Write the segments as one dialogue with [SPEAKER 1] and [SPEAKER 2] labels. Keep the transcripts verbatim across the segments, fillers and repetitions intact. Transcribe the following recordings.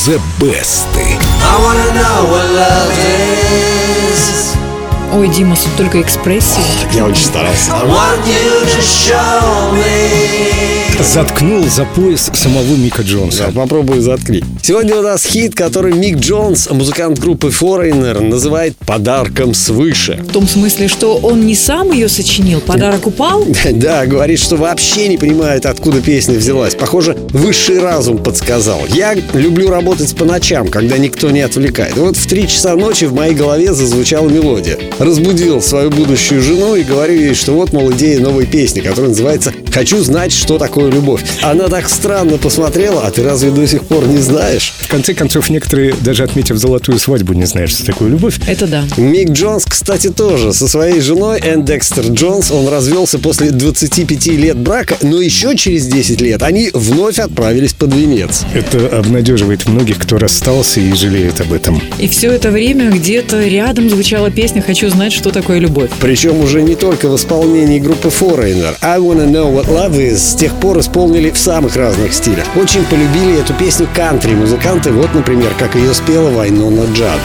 [SPEAKER 1] The Best.
[SPEAKER 2] Ой, Дима, только экспрессия.
[SPEAKER 3] Я очень старался.
[SPEAKER 1] Заткнул за пояс самого Мика Джонса.
[SPEAKER 3] Да, попробую заткни. Сегодня у нас хит, который Мик Джонс, музыкант группы Foreigner, называет «подарком свыше».
[SPEAKER 2] В том смысле, что он не сам ее сочинил, подарок упал?
[SPEAKER 3] Да, говорит, что вообще не понимает, откуда песня взялась. Похоже, высший разум подсказал. Я люблю работать по ночам, когда никто не отвлекает. Вот в три часа ночи в моей голове зазвучала мелодия. Разбудил свою будущую жену и говорю ей, что вот, мол, идея новой песни, которая называется «Хочу знать, что такое любовь». Она так странно посмотрела: а ты разве до сих пор не знаешь?
[SPEAKER 1] В конце концов, некоторые, даже отметив золотую свадьбу, не знают, что такое любовь.
[SPEAKER 2] Это да.
[SPEAKER 3] Мик Джонс, кстати, тоже. Со своей женой Энн Декстер Джонс он развелся после двадцати пяти лет брака, но еще через десять лет они вновь отправились под венец.
[SPEAKER 1] Это обнадеживает многих, кто расстался и жалеет об этом.
[SPEAKER 2] И все это время где-то рядом звучала песня «Хочу знать, что такое любовь».
[SPEAKER 3] Причем уже не только в исполнении группы Foreigner. I Wanna Know What Love Is с тех пор исполнили в самых разных стилях. Очень полюбили эту песню кантри-музыканты. Вот, например, как ее спела Вайнона Джад.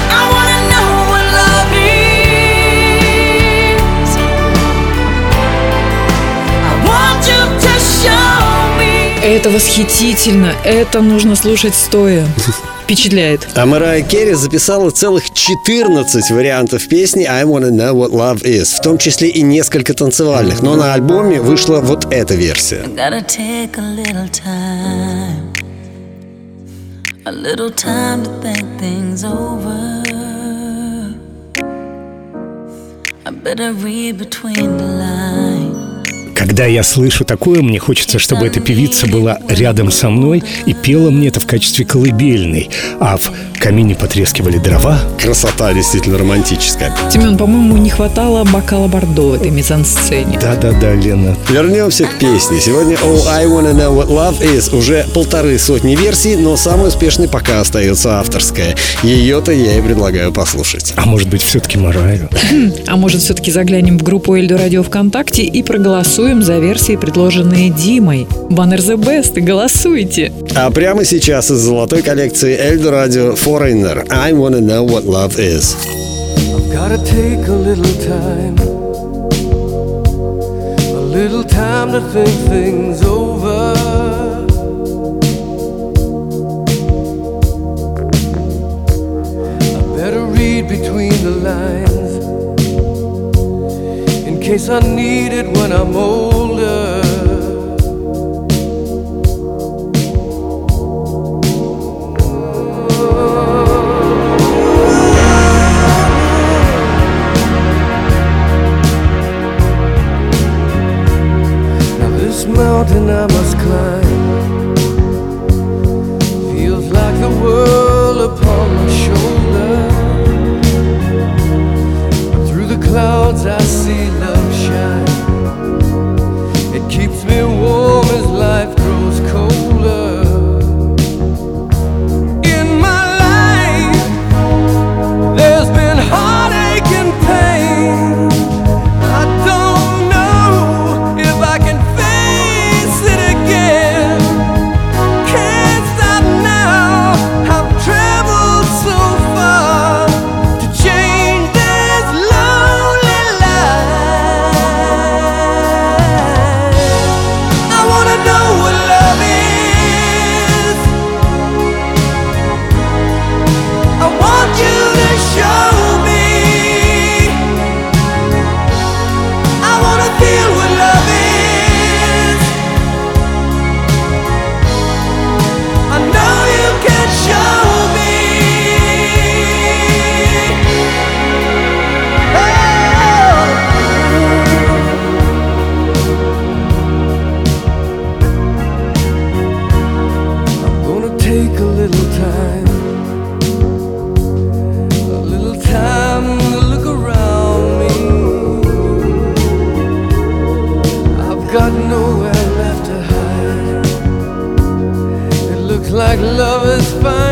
[SPEAKER 2] Это восхитительно. Это нужно слушать стоя. Впечатляет.
[SPEAKER 3] А Марайя Керри записала целых четырнадцать вариантов песни I Wanna Know What Love Is, в том числе и несколько танцевальных. Но на альбоме вышла вот эта версия.
[SPEAKER 1] Когда я слышу такое, мне хочется, чтобы эта певица была рядом со мной и пела мне это в качестве колыбельной, а в камине потрескивали дрова.
[SPEAKER 3] Красота действительно романтическая.
[SPEAKER 2] Семен, по-моему, не хватало бокала бордо в этой мизансцене.
[SPEAKER 1] Да-да-да, Лена.
[SPEAKER 3] Вернемся к песне. Сегодня Oh, I Wanna Know What Love Is уже полторы сотни версий, но самой успешной пока остается авторская. Ее-то я и предлагаю послушать.
[SPEAKER 1] А может быть, все-таки Марайю?
[SPEAKER 2] А может, все-таки заглянем в группу Эльдо Радио ВКонтакте и проголосуем за версии, предложенные Димой. Баннер The Best, голосуйте!
[SPEAKER 3] А прямо сейчас из золотой коллекции Эльдо Радио Foreigner I Wanna Know What Love Is.
[SPEAKER 4] I've gotta take a little time, a little time to think things over. I better read between the lines, in case I need it when I'm older. Now this mountain I must climb feels like the world upon my shoulder. Through the clouds I see love shine. It keeps me warm as life grows colder. In my life there's been heartache and pain. I don't know if I can face it again. Can't stop now. I've traveled so far to change this lonely life. I wanna know what love is. I want you to show me. I wanna feel what love is. I know you can show me. I'm gonna take a little time, a little time to look around me. I've got nowhere left to hide. It looks like love is fine.